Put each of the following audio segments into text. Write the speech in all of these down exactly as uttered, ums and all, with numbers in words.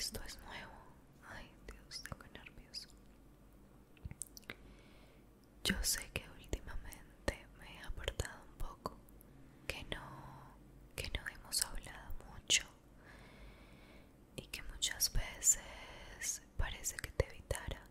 esto es nuevo. Ay, Dios, tengo nervios. Yo sé que últimamente me he apartado un poco, que no, que no hemos hablado mucho y que muchas veces parece que te evitara,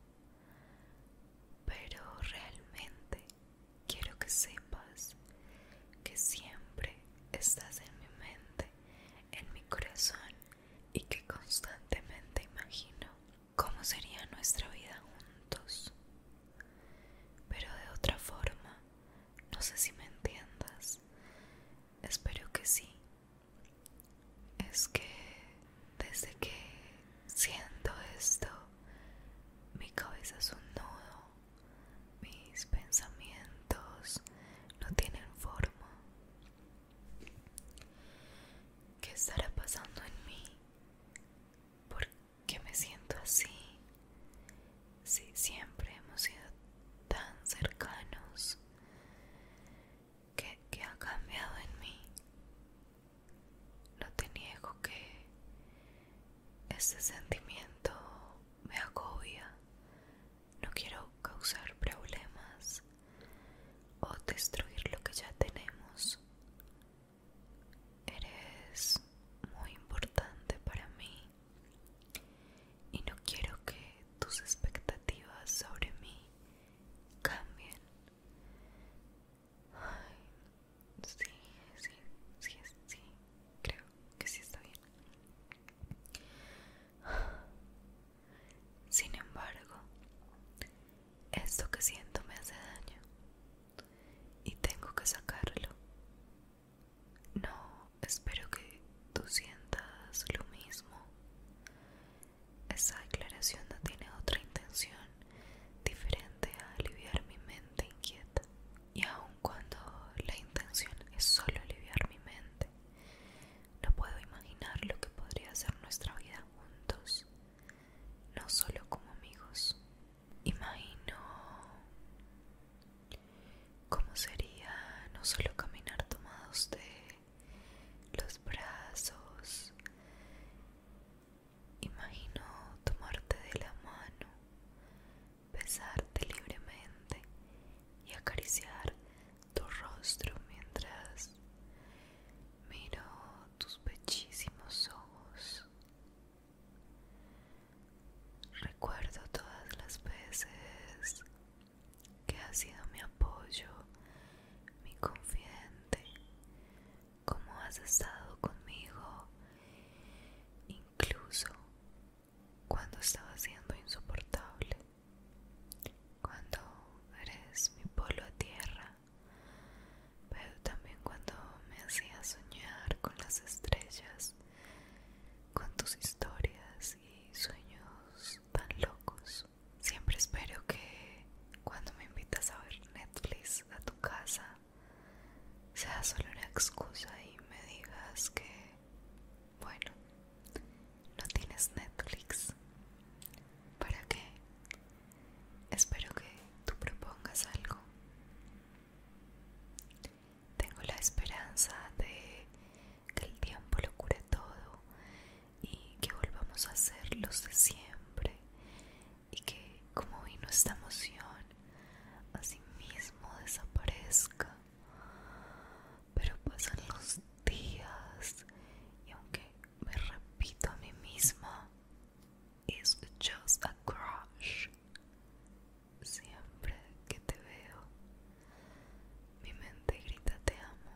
pero realmente quiero que sepas que siempre estás en mi mente, en mi corazón, y que constantemente imagino cómo sería nuestra vida juntos, pero de otra forma. No sé si me entiendas. Espero que sí. Es que desde que siento esto, mi cabeza es un nudo, mis pensamientos no tienen forma. ¿Qué estará pasando en mí? ¿Por qué me siento así? Si siempre hemos sido tan cercanos. ¿Qué, qué ha cambiado en mí? No te niego que este sentimiento me agobia. No quiero causar problemas o destruir lo que ya tenemos. Eres muy importante para mí y no quiero que tus expectativas sobre mí cambien. Ay, sí, sí, sí, sí, creo que sí está bien. Sin embargo, esto que siento me hace daño y tengo que sacarlo. No, espero que tú sientas lo mismo. Esa declaración no tiene otra intención diferente a aliviar mi mente inquieta. Y aun cuando la intención es solo aliviar mi mente, no puedo imaginar lo que podría ser nuestra vida juntos, no solo como amigos. Imagino cómo sería no solo caminar tomados de los brazos. Imagino tomarte de la mano, besarte libremente y acariciar tu rostro mientras miro tus bellísimos ojos. Recuerdo todas las veces que has sido mi apoyo, mi confidente, cómo has estado conmigo, incluso cuando estaba siendo insoportable, cuando eres mi polo a tierra, pero también cuando me hacías soñar con las estrellas, con tus historias y sueños tan locos. Siempre espero que cuando me invitas a ver Netflix a tu casa sea solo una excusa y me digas que, bueno, no tienes Netflix. ¿Para qué? Espero que tú propongas algo. Tengo la esperanza de que el tiempo lo cure todo y que volvamos a ser los de siempre, y que como vino esta emoción, así mismo desaparezca. Pero pasan los días y aunque me repito a mí misma, it's just a crush, siempre que te veo, mi mente grita te amo.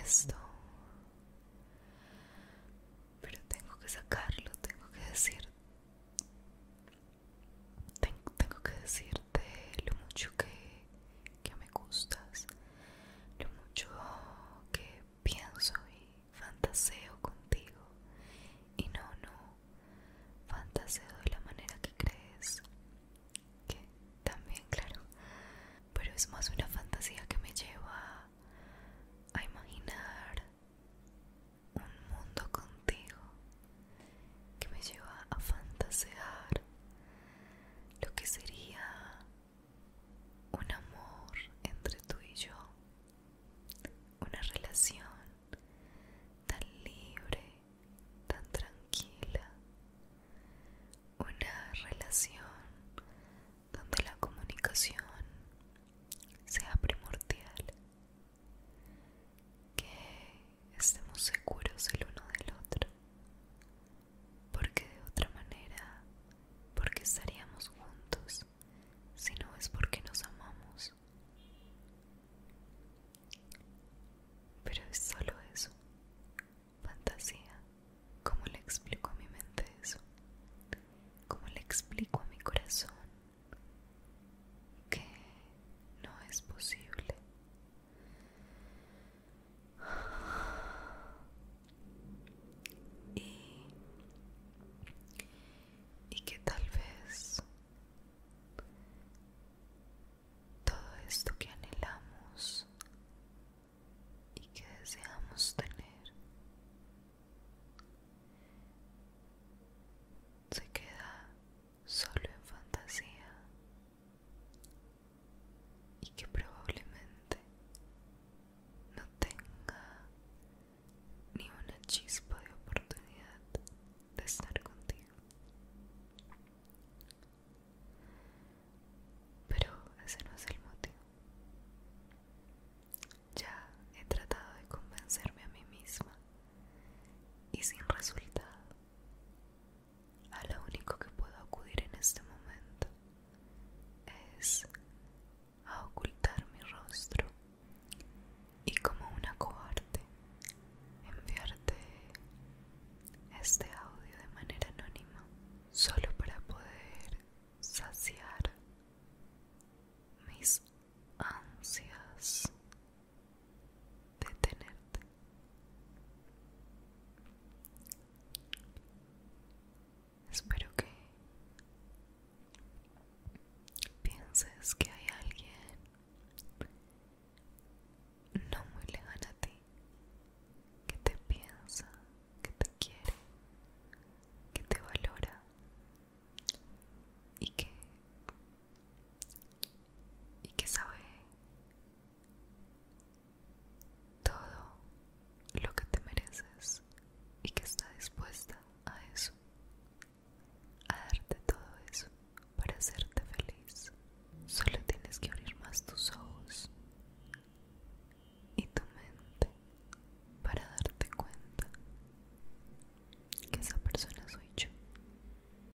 esto